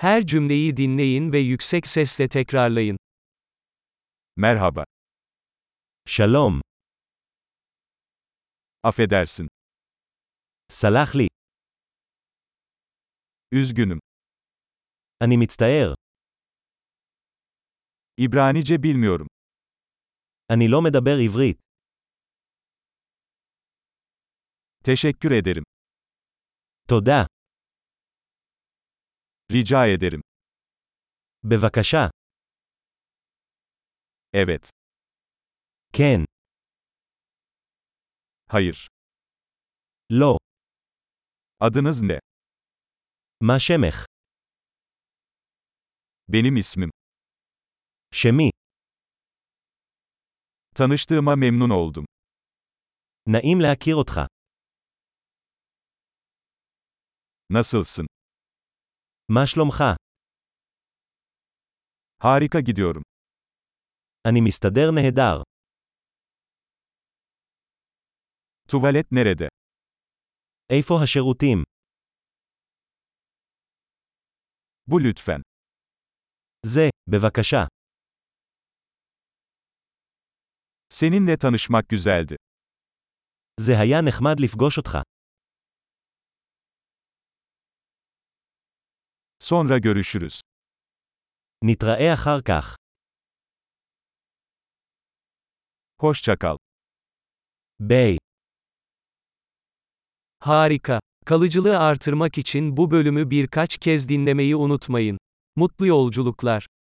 Her cümleyi dinleyin ve yüksek sesle tekrarlayın. Merhaba. שלום. Affedersin. סלח לי. Üzgünüm. אני מצטער. İbranice bilmiyorum. אני לא מדבר עברית. Teşekkür ederim. תודה. Rica ederim. בבקשה. Evet. כן. Hayır. לא. Adınız ne? מה שמך? Benim ismim. שמי. Tanıştığıma memnun oldum. נעים להכיר אותך. Nasılsın? מה שלומך? Harika gidiyorum. אני מסתדר נהדר. Tuvalet nerede? איפה השירותים? Bu lütfen. זה, בבקשה. Seninle tanışmak güzeldi. זה היה נחמד לפגוש אותך. Sonra görüşürüz. נתראה אחר כך. Hoşça kal. ביי. Harika. Kalıcılığı artırmak için bu bölümü birkaç kez dinlemeyi unutmayın. Mutlu yolculuklar.